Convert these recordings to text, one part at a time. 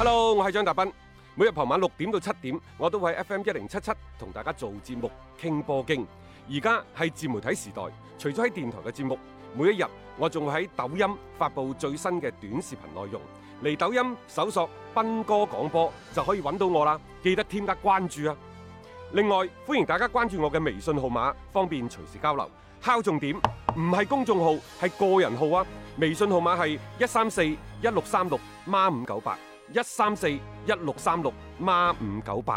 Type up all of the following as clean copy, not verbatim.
Hello， 我係張達斌。每日傍晚6點到7點，我都會喺 FM1077同大家做節目傾波經。而家係自媒體時代，除咗喺電台嘅節目，每一日我仲會喺抖音發布最新嘅短視頻內容。嚟抖音搜索斌哥廣播就可以揾到我啦，記得添加關注啊！另外，歡迎大家關注我嘅微信號碼，方便隨時交流。敲重點，唔係公眾號，係個人號啊！微信號碼係1341636孖598。1341636孖598。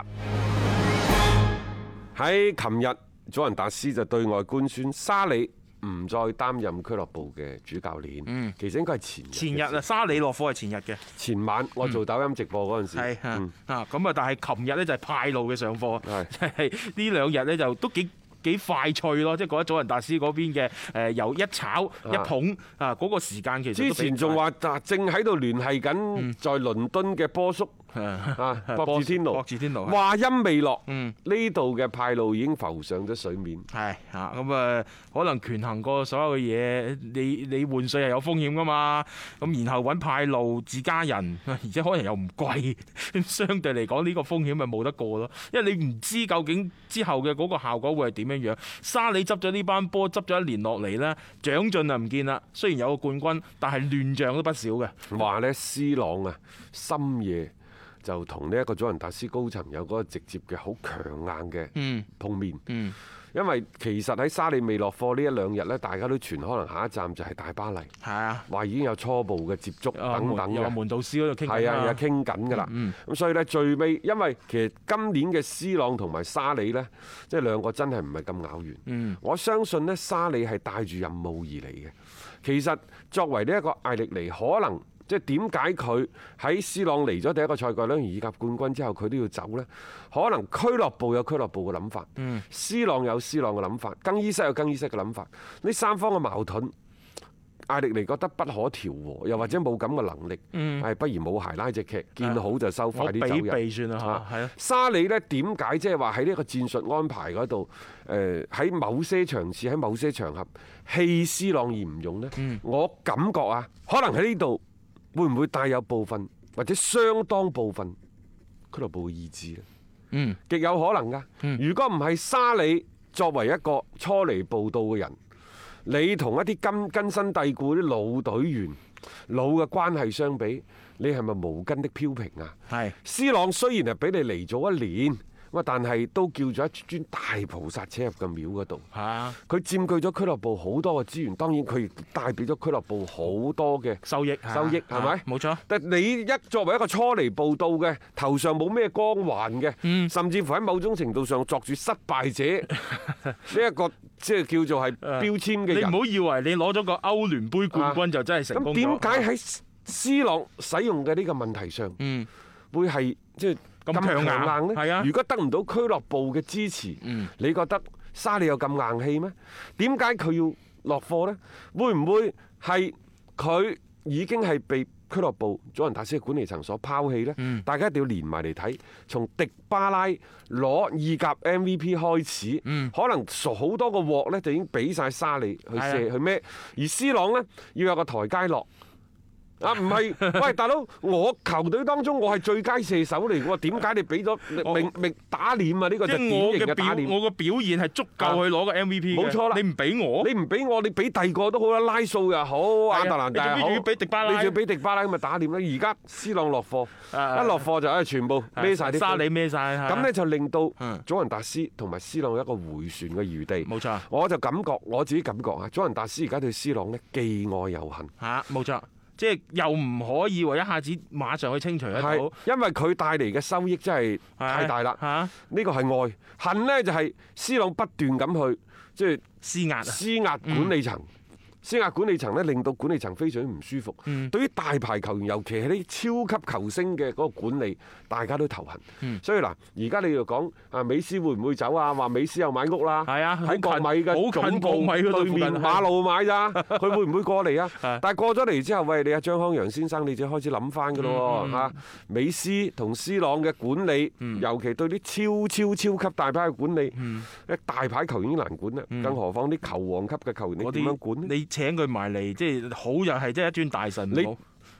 喺琴日，祖雲達斯就對外官宣沙里唔再擔任俱樂部嘅主教練。其實應該係前日啊， 沙里落課係前日嘅。 前晚我做抖音直播嗰陣時， 咁啊，但係琴日咧就係派路嘅上課，係呢兩日咧就都幾快脆咯，即係覺得祖雲達斯嗰邊嘅由一炒一捧嗰個時間其實之前仲話正喺度聯繫緊在倫敦嘅波叔博智天奴，話音未落，呢度嘅派路已經浮上咗水面。 係咁可能權衡過所有嘅嘢，你換帥係有風險噶嘛，咁然後揾派路自家人，而且可能又唔貴，相對嚟講呢個風險咪冇得過咯，因為你唔知究竟之後嘅嗰個效果會係點樣樣。沙里執咗呢班波，執咗1年落嚟呢，長進啊唔見啦。雖然有個冠軍，但係亂象都不少嘅。 話呢，C朗啊，深夜就同呢一個祖雲達斯高層有嗰個直接嘅好強硬嘅碰面。因為其實喺沙里未落課呢一兩日呢，大家都傳可能下一站就係大巴黎。係啊，話已經有初步嘅接觸等等嘅。 有門導師嗰度傾緊。 係啊，有傾緊㗎啦。咁所以呢，最尾，因為其實今年嘅 C 朗同埋沙里呢，即係兩個真係唔係咁咬弦。我相信呢，沙里係帶住任務而嚟嘅。其實作為呢一個艾力尼，可能。即係點解佢喺 C 朗嚟咗第一個賽季兩年意甲冠軍之後，佢都要走呢？可能俱樂部有俱樂部嘅諗法，C 朗有 C 朗嘅諗法，更衣室有更衣室嘅諗法。呢三方嘅矛盾，艾力尼覺得不可調和，又或者冇咁嘅能力，不如冇鞋拉隻劇，見好就收，快啲走人。 我避算啦嚇， 沙里呢點解即係話喺呢一個戰術安排嗰度，喺某些場次喺某些場合棄 C 朗而唔用呢？我感覺啊，可能喺呢度。會唔會帶有部分或者相當部分俱樂部嘅意志呢？極有可能㗎。如果唔係沙里作為一個初嚟報到嘅人，你同一啲根深蒂固啲老隊員、老嘅關係相比，你係咪無根的飄萍啊？係。C 朗雖然係俾你嚟咗1年。但係都叫咗一尊大菩薩車入個廟嗰度。佢佔據咗俱樂部好多嘅資源，當然佢亦帶俾咗俱樂部好多嘅收益，係咪？冇錯。但你一作為一個初嚟報到嘅，頭上冇咩光環嘅，甚至乎喺某種程度上作住失敗者呢一個即係叫做係標籤嘅人。你唔好以為你攞咗個歐聯杯冠軍就真係成功咗。咁點解喺 C 朗使用嘅呢個問題上，會係即係咁強硬呢？係啊！如果得唔到俱樂部嘅支持，你覺得沙利有咁硬氣咩？點解佢要落課呢？會唔會係佢已經係被俱樂部祖雲達斯嘅管理層所拋棄呢？大家一定要連埋嚟睇，從迪巴拉攞意甲 MVP 開始，可能熟好多個鑊呢，就已經俾晒沙利去射去孭，而 C 朗呢，要有個台階落。唔係，喂大佬，我球隊當中我係最佳射手嚟喎，點解你俾咗明打臉啊？呢個就典型嘅打臉。我個表現係足夠去攞個 MVP 嘅。冇錯啦，你唔俾我，你俾第二個都好啦，拉素又好，亞特蘭大又好，你仲要俾迪巴拉，你仲要俾迪巴拉咁咪打臉啦？而家 C 朗落課，一落課就全部孭晒啲沙里孭晒，咁呢就令到祖雲達斯同埋 C 朗有一個迴旋嘅餘地。冇錯，我自己感覺啊，祖雲達斯而家對 C 朗呢既愛又恨。冇錯。即係又唔可以話一下子馬上去清除得到，因為佢帶嚟嘅收益真係太大啦。呢個係愛，恨呢就係 C 朗不斷咁去即係施壓管理層。施壓管理層咧，令到管理層非常之唔舒服。對於大牌球員，尤其係啲超級球星嘅嗰個管理，大家都頭痕。所以嗱，而家你又講啊，美斯會唔會走啊？話美斯又買屋啦，喺國米嘅總部對面馬路買咋？佢會唔會過嚟啊？但係過咗嚟之後，喂，你阿張康陽先生，你就開始諗翻㗎咯喎嚇。美斯同 C 朗嘅管理，尤其對啲超級大牌嘅管理，大牌球員已經難管啦，更何況啲球王級嘅球員，你點樣管呢？請佢埋嚟，即係好又係即係一尊大神。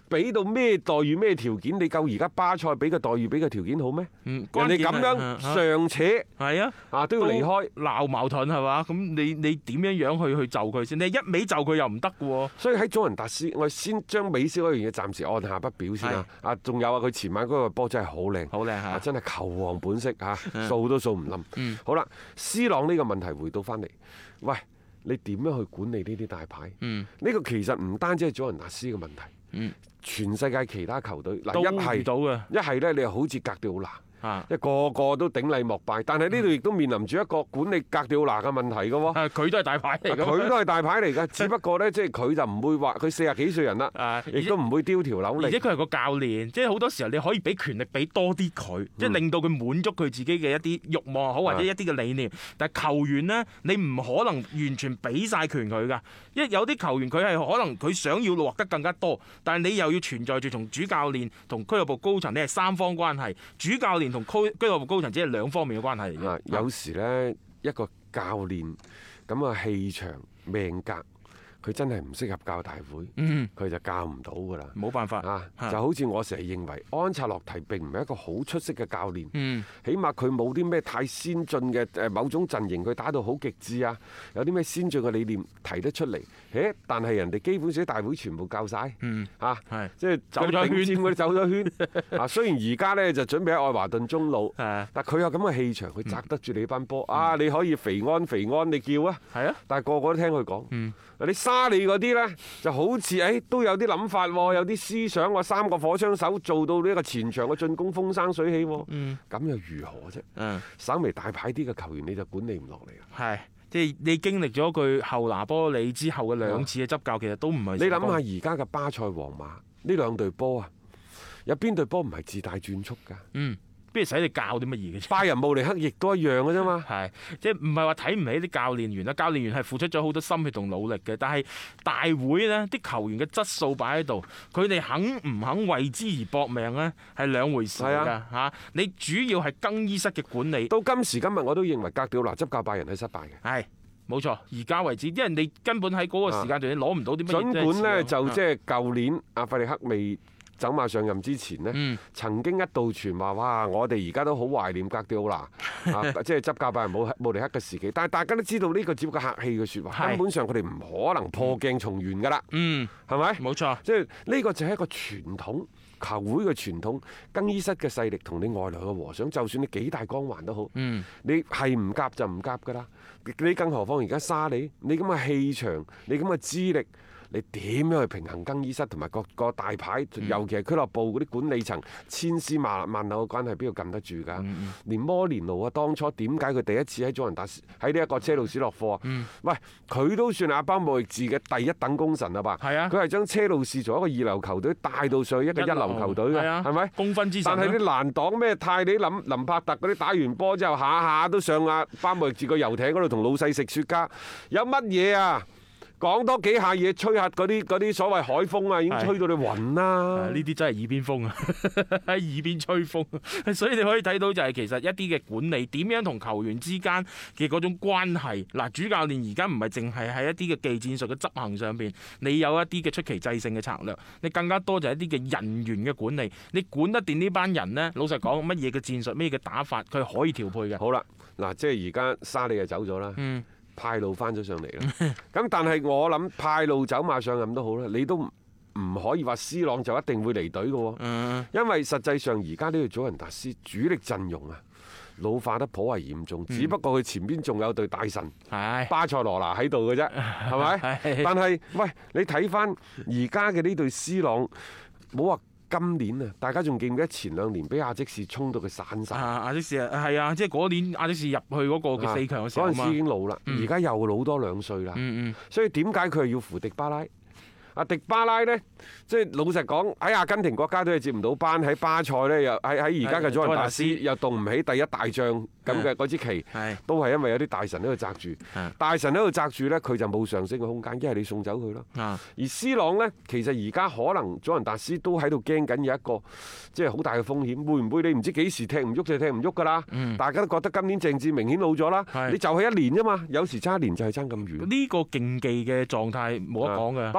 俾到咩待遇咩條件？你夠而家巴塞俾嘅待遇俾嘅條件好咩？人哋咁樣尚且係啊都要離開， 鬧矛盾係嘛？咁你點樣去就佢先？你一味就佢又唔得嘅喎。 所以喺祖雲達斯，我先將美斯嗰樣嘢暫時按下不表先啦。仲有佢前晚嗰個波真係好靚， 好靚嚇， 真係球王本色嚇，掃都掃唔冧。好啦，C朗呢個問題回到翻嚟，喂，你點樣去管理呢啲大牌？呢個其實唔單止係祖雲達斯嘅問題，全世界其他球隊嗱一係咧，你又好似格調拿。一個個都頂禮膜拜，但係呢度亦都面臨住一個管理格調拿嘅問題嘅喎。 佢都係大牌嚟㗎， 佢都係大牌嚟㗎，只不過呢，即係佢就唔會話佢40幾歲人啦，亦都唔會丟條扭力。 而且佢係個教練，即係好多時候你可以俾權力俾多啲佢，即係令到佢滿足佢自己嘅一啲慾望好，或者一啲嘅理念。但係球員呢，你唔可能完全俾晒權佢㗎，因為有啲球員佢係可能佢想要獲得更加多，但係你又要存在住從主教練同俱樂部高層，你係三方關係，主教練同俱樂部高層只係兩方面嘅關係嚟嘅。 有時呢，一個教練咁嘅氣場命格，佢真係唔適合教大會，佢就教唔到㗎啦。 冇辦法就好似我成日認為安察洛提並唔係一個好出色嘅教練，起碼佢冇啲咩太先進嘅某種陣型，佢打到好極致啊，有啲咩先進嘅理念提得出嚟。但係人哋基本上大會全部教晒，即係走咗圈，佢走咗圈。雖然而家呢就準備喺愛華頓中路，但佢有咁嘅氣場，佢擲得住你班波。你可以肥安，你叫啊，但係個個都聽佢講。你沙利嗰啲呢，就好似都有啲諗法，有啲思想，話3個火槍手做到呢個前場嘅進攻風生水起，咁又如何啫？稍微大牌啲嘅球員你就管理唔落嚟。 係，即係你經歷咗佢後拿波里之後嘅2次嘅執教，其實都唔係。你諗下而家嘅巴塞、皇馬呢兩隊波啊，有邊隊波唔係自帶轉速㗎？不如使你教啲乜嘢嘅？拜仁慕尼黑亦都一樣嘅啫嘛。係，即係唔係話睇唔起啲教練員啦？教練員係付出咗好多心血同努力嘅，但係大會呢啲球員嘅質素擺喺度，佢哋肯唔肯為之而搏命呢？係兩回事㗎嚇。你主要係更衣室嘅管理。到今時今日我都認為格調拿執教拜仁係失敗嘅。係。冇錯，而家為止，因為你根本喺嗰個時間段你攞唔到啲乜嘢。儘管呢，就即係舊年阿費利克未走馬上任之前呢，曾經一度傳話，哇！我哋而家都好懷念格調拿即係執教拜仁慕尼黑嘅時期。但係大家都知道呢個只不過客氣嘅説話，根本上佢哋唔可能破鏡重圓㗎啦。係咪？冇錯，即係呢個就係一個傳統。球會嘅傳統，更衣室嘅勢力同你外來嘅和尚，就算你幾大光環都好，你係唔夾就唔夾㗎啦。你更何況而家沙利，你咁嘅氣場，你咁嘅資歷，你點樣去平衡更衣室同埋各個大牌，尤其係俱樂部嗰啲管理層千絲萬縷嘅關係，邊度撳得住㗎？連摩連奴啊，當初點解佢第一次喺祖雲達斯喺呢一個車路士落課啊？喂，佢都算阿巴莫域治嘅第一等功臣啊吧？係啊，佢係將車路士從一個2流球隊帶到上去一個1流球隊嘅，係咪？功勳之神。但係啲難擋咩泰利林柏特嗰啲打完波之後，下下都上阿巴莫域治個遊艇嗰度同老細食雪茄，有乜嘢啊？講多幾下嘢，吹下嗰啲所謂海風啊，已經吹到你暈啦！呢啲真係耳邊風啊，喺耳邊吹風。所以你可以睇到就係其實一啲嘅管理點樣同球員之間嘅嗰種關係。嗱，主教練而家唔係淨係喺一啲嘅技戰術嘅執行上邊，你有一啲嘅出奇制勝嘅策略，你更加多就係一啲嘅人員嘅管理。你管得掂呢班人呢？老實講，乜嘢嘅戰術，乜嘢嘅打法，佢係可以調配嘅。好啦，嗱，即係而家沙利就走咗啦。派路翻咗上嚟啦，咁但係我諗派路走馬上任都好啦，你都唔可以話 C 朗就一定會離隊嘅喎，因為實際上而家呢個祖雲達斯主力陣容啊老化得頗為嚴重，只不過佢前邊仲有隊大神巴塞羅那喺度嘅啫，係咪？但係喂，你睇翻而家嘅呢隊 C 朗，冇話。今年啊，大家仲記唔記得前2年俾亞積士衝到佢散晒？亞積士係啊，即係嗰年亞積士入去嗰個嘅4強嘅時候，嗰陣時已經老啦，而家又老多2歲啦。所以點解佢係要扶迪巴拉？迪巴拉呢，即係老實講喺阿根廷國家隊係接唔到班，喺巴塞呢，又喺而家嘅祖雲達斯又動唔起第一大將咁嘅嗰支旗，都係因為有啲大神喺度擲住，大神喺度擲住呢，佢就冇上升嘅空間，一係你送走佢咯。而 C 朗呢，其實而家可能祖雲達斯都喺度驚緊有一個即係好大嘅風險，會唔會你唔知幾時踢唔喐就踢唔喐㗎啦？大家都覺得今年鄭智明顯老咗啦，你就係1年啫嘛，有時差1年就係爭咁遠。呢個競技嘅狀態冇得講嘅。當然。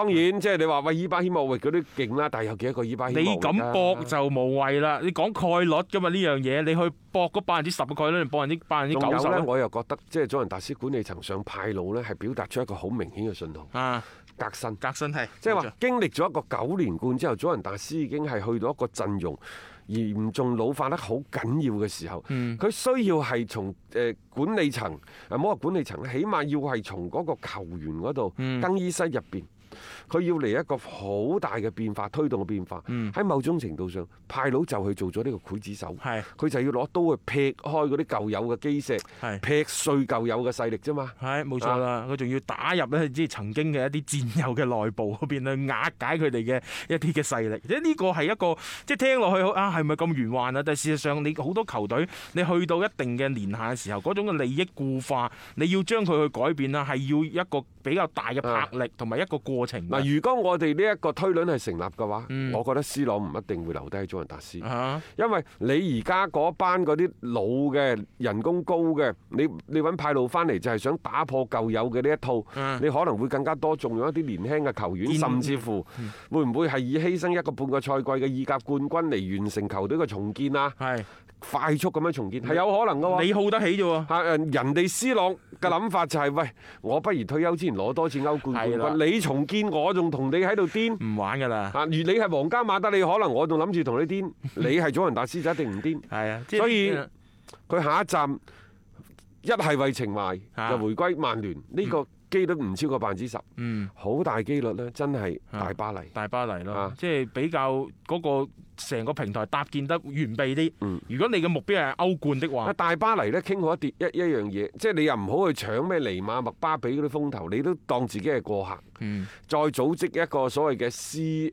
即係你話喂伊巴希莫域嗰啲勁啦，但係有幾多個伊巴希莫域啊？ 你咁搏就無謂啦。你講概率㗎嘛呢樣嘢，你去搏嗰10%嘅概率，定搏90% 仲有咧， 咧？ 我又覺得即係祖雲達斯管理層上派路咧，係表達出一個好明顯嘅信號。 啊， 革新， 革新係， 即係話經歷咗一個9連冠之後，祖雲達斯已經係去到一個陣容嚴重老化得好緊要嘅時候，佢需要係從管理層，唔好話管理層，起碼要係從嗰個球員嗰度更衣室入邊。佢要嚟一個好大嘅變化，推動嘅變化。喺某種程度上，派佬就去做咗呢個劊子手。佢就要攞刀去劈開嗰啲舊有嘅基石，劈碎舊有嘅勢力啫嘛。 係冇錯啦，佢仲要打入咧，即係曾經嘅一啲戰友嘅內部嗰邊去瓦解佢哋嘅一啲嘅勢力。即係呢個係一個即係聽落去啊，係咪咁玄幻啊？但係事實上，你好多球隊，你去到一定嘅年限嘅時候，嗰種嘅利益固化，你要將佢去改變啦，係要一個比較大嘅魄力同埋一個過程。 嗱，如果我哋呢一個推論係成立嘅話，我覺得 C 朗唔一定會留低喺祖雲達斯，因為你而家嗰班嗰啲老嘅人工高嘅，你揾派路翻嚟就係想打破舊有嘅呢一套，你可能會更加多重用一啲年輕嘅球員，甚至乎會唔會係以犧牲一個半個賽季嘅意甲冠軍嚟完成球隊嘅重建啊？快速咁樣重建係有可能嘅喎， 你耗得起啫喎。 人哋 C 朗嘅諗法就係：喂，我不如退休之前攞多次歐冠冠軍，你重建我仲同你喺度癲，唔玩㗎啦。 如你係皇家馬德里，可能我仲諗住同你癲，你係祖雲達斯就一定唔癲。 係啊， 所以佢下一站一係為情懷就回歸曼聯呢個機率唔超過10%，好大機率咧，真係大巴黎。 大巴黎咯，即係比較嗰個成個平台搭建得完備啲。如果你嘅目標係歐冠的話， 大巴黎咧傾好一樣嘢，即係你又唔好去搶咩尼馬、麥巴比嗰啲風頭，你都當自己係過客，再組織一個所謂嘅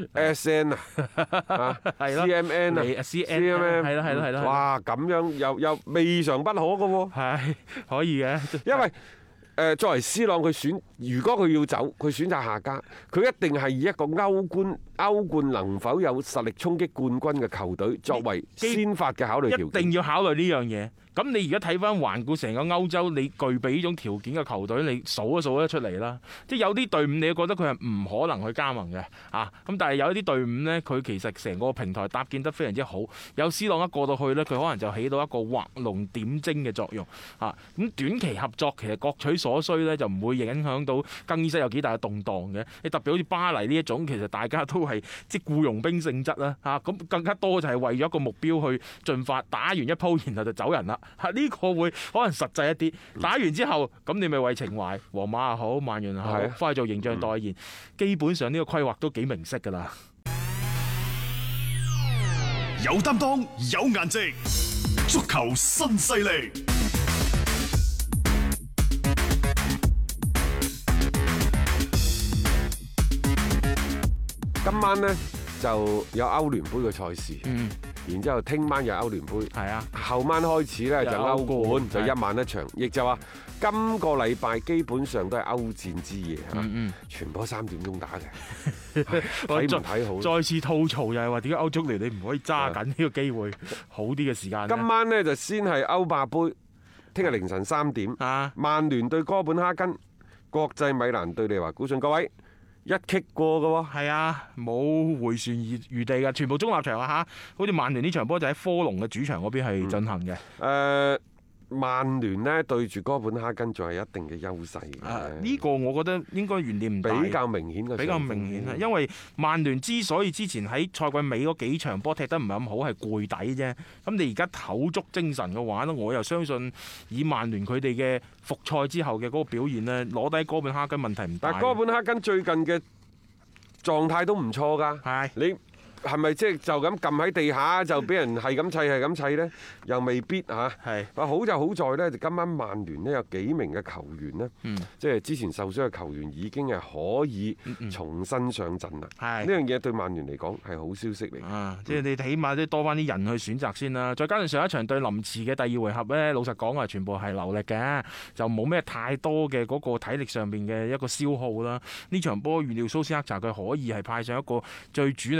CSN 啊，CMN 啊，CMN 係啦， 哇，咁樣又未嘗不可嘅喎， 係可以嘅， 因為作為 C 朗，如果佢要走，佢選擇下家，佢一定係以一個歐冠能否有實力衝擊冠軍嘅球隊作為先發嘅考慮條件， 一定要考慮呢樣嘢。咁你而家睇翻環顧成個歐洲，你具備呢種條件嘅球隊，你數都數得出嚟啦。即係有啲隊伍，你覺得佢係唔可能去加盟嘅啊。咁但係有一啲隊伍呢，佢其實成個平台搭建得非常之好。有 C 朗一過到去呢，佢可能就起到一個畫龍點睛嘅作用啊。咁短期合作其實各取所需呢，就唔會影響到更衣室有幾大嘅動盪嘅。你特別好似巴黎呢一種，其實大家都係即係僱傭兵性質啦嚇。咁更加多就係為咗一個目標去進發，打完一鋪然後就走人啦。呢個會可能實際一啲，打完之後咁你咪為情懷，皇馬又好，曼聯又好，翻去做形象代言，基本上呢個規劃都幾明晰㗎啦。 有擔當，有顏值，足球新勢力。 今晚呢就有歐聯杯嘅賽事。然之後，聽晚有歐聯杯，後晚開始咧就歐冠，就一晚一場，亦就話今個禮拜基本上都係歐戰之夜嚇，全部3點鐘打嘅，睇唔睇好？ 再次吐槽就係話點解歐足聯你唔可以揸緊呢個機會好啲嘅時間？ 今晚呢就先係歐霸杯，聽日凌晨3點，曼聯對哥本哈根，國際米蘭對利華古遜，各位。一擊過嘅喎， 係啊，冇回旋餘地嘅，全部中立場啊嚇！好似曼聯呢場波就喺科隆嘅主場嗰邊係進行嘅。 曼聯呢對住哥本哈根仲係一定嘅優勢嘅。 呢個我覺得應該懸念唔大， 比較明顯嘅， 比較明顯啊！因為曼聯之所以之前喺賽季尾嗰幾場波踢得唔係咁好，係攰底啫。咁你而家唞足精神嘅話咧，我又相信以曼聯佢哋嘅復賽之後嘅嗰個表現咧，攞低哥本哈根問題唔大。 但哥本哈根最近嘅狀態都唔錯㗎。 係你。係咪即係就咁撳喺地下就俾人係咁砌係咁砌呢？又未必嚇。係。好就好在呢，就今晚曼聯呢有幾名嘅球員呢，即係之前受傷嘅球員已經係可以重新上陣啦。係。呢樣嘢對曼聯嚟講係好消息嚟。 即係你起碼都多翻啲人去選擇先啦。再加上上一場對林茨嘅第2回合呢，老實講啊，全部係流力嘅，就冇咩太多嘅嗰個體力上邊嘅一個消耗啦。呢場波預料蘇斯克查佢可以係派上一個最主力嘅陣容。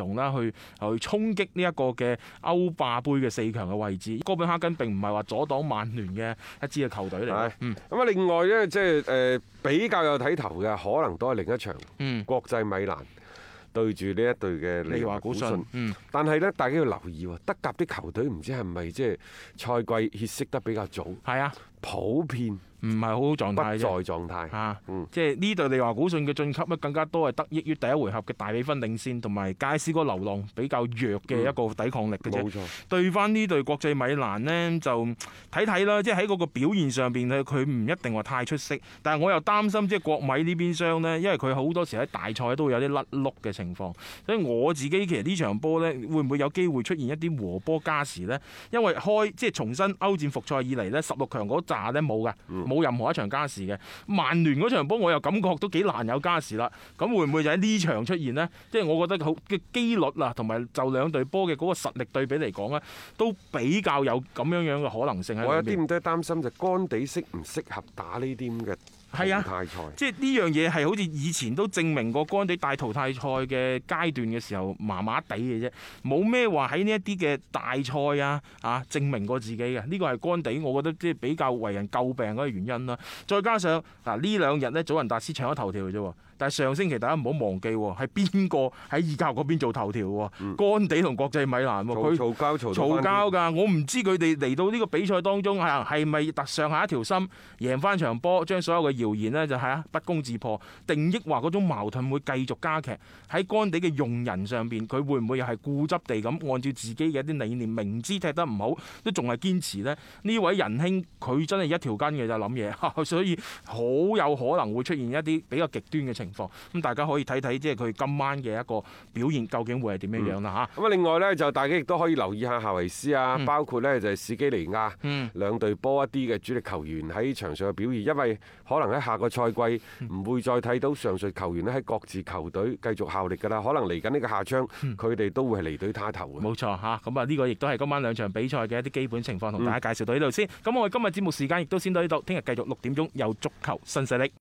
容啦，去衝擊呢一個嘅歐霸杯嘅4強嘅位置。哥本哈根並唔係話阻擋曼聯嘅一支嘅球隊嚟嘅。 咁啊，另外呢，即係比較有睇頭嘅，可能都係另一場國際米蘭對住呢一隊嘅利華古遜。但係呢，大家要留意喎，德甲啲球隊唔知係咪即係賽季歇息得比較早？係啊，普遍唔係好好狀態啫， 不在狀態。 即係呢隊利華古遜嘅晉級咧，更加多係得益於第一回合嘅大比分領先，同埋佳斯哥流浪比較弱嘅一個抵抗力嘅啫。冇錯。對翻呢隊國際米蘭呢，就睇睇啦，即係喺嗰個表現上邊咧，佢唔一定話太出色。但係我又擔心即係國米呢邊廂呢，因為佢好多時喺大賽都會有啲甩碌嘅情況，所以我自己其實呢場波呢，會唔會有機會出現一啲和波加時呢？因為即係重新歐戰復賽以嚟呢，16強嗰紮呢冇㗎，冇任何一場加時嘅。曼聯嗰場波我又感覺都幾難有加時啦。咁會唔會就喺呢場出現呢？即係我覺得好嘅機率啊，同埋就兩隊波嘅嗰個實力對比嚟講呢，都比較有咁樣嘅可能性喺裏面。 我有啲咁多擔心就干地適唔適合打呢啲咁嘅淘汰賽， 即係呢樣嘢係好似以前都證明過干地帶淘汰賽嘅階段嘅時候麻麻地嘅啫，冇咩話喺呢一啲嘅大賽啊證明過自己嘅。呢個係干地我覺得即係比較為人詬病嗰個原因啦。再加上呢兩日呢，祖雲達斯搶咗頭條嘅啫。但係上星期大家唔好忘記喎，係邊個喺意甲嗰邊做頭條喎？干地同國際米蘭喎，佢嘈交㗎。我唔知佢哋嚟到呢個比賽當中係咪特上下一條心，贏翻場波，將所有嘅謠言呢就係不攻自破，定抑或嗰種矛盾會繼續加劇喺干地嘅用人上邊，佢會唔會又係固執地咁按照自己嘅一啲理念，明知踢得唔好都仲係堅持呢？呢位仁兄佢真係一條筋嘅就諗嘢，所以好有可能會出現一啲比較極端嘅情況。咁大家可以睇睇，即係佢今晚嘅一個表現究竟會係點樣樣啦嚇。 咁另外呢，就大家亦都可以留意下夏維斯啊，包括呢就係史基尼亞兩隊波一啲嘅主力球員喺場上嘅表現，因為可能喺下個賽季唔會再睇到上述球員咧喺各自球隊繼續效力㗎啦。可能嚟緊呢個夏窗，佢哋都會係離隊他投嘅。 冇錯嚇，咁啊呢個亦都係今晚兩場比賽嘅一啲基本情況，同大家介紹到呢度先。咁我哋今日節目時間亦都先到呢度，聽日繼續6點鐘有足球新勢力。